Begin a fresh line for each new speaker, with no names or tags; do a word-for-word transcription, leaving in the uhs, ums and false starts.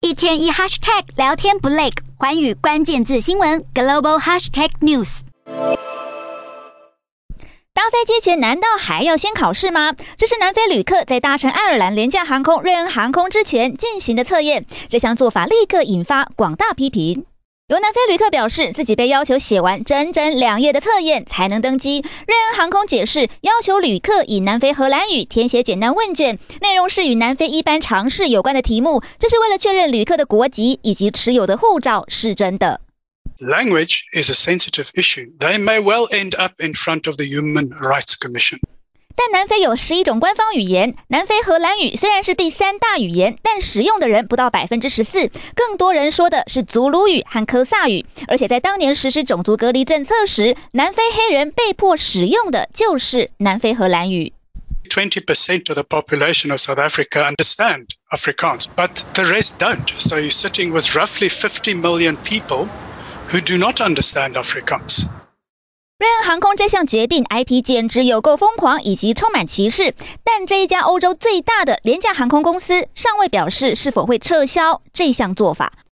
一天一 hashtag 聊天不累，寰宇關鍵字新聞 Global Hashtag News。
搭飛機前難道還要先考試嗎？這是南非旅客在搭乘愛爾蘭廉價航空瑞恩航空之前進行的測驗，這項做法立刻引發廣大批評。有南非旅客表示，自己被要求寫完整整兩頁的測驗才能登機。瑞恩航空解釋，要求旅客以南非荷蘭語填寫簡單問卷，內容是與南非一般常識有關的題目，這是為了確認旅客的國籍以及持有的護照是真的。
Language is a sensitive issue. They may well end up in front of the Human Rights Commission.
但南非有十一種官方語言，南非荷蘭語虽然是第三大語言，但使用的人不到百分之十四，更多人說的是祖魯語和科薩語。而且在當年實施種族隔離政策時，南非黑人被迫使用的就是南非荷蘭語。
twenty percent of the population of South Africa understand Afrikaans, but the rest don't. So you're sitting with roughly fifty million people who do not understand Afrikaans.
瑞恩航空這項決定 I P 簡直有夠瘋狂以及充滿歧視，但這一家歐洲最大的廉價航空公司尚未表示是否會撤銷這項做法。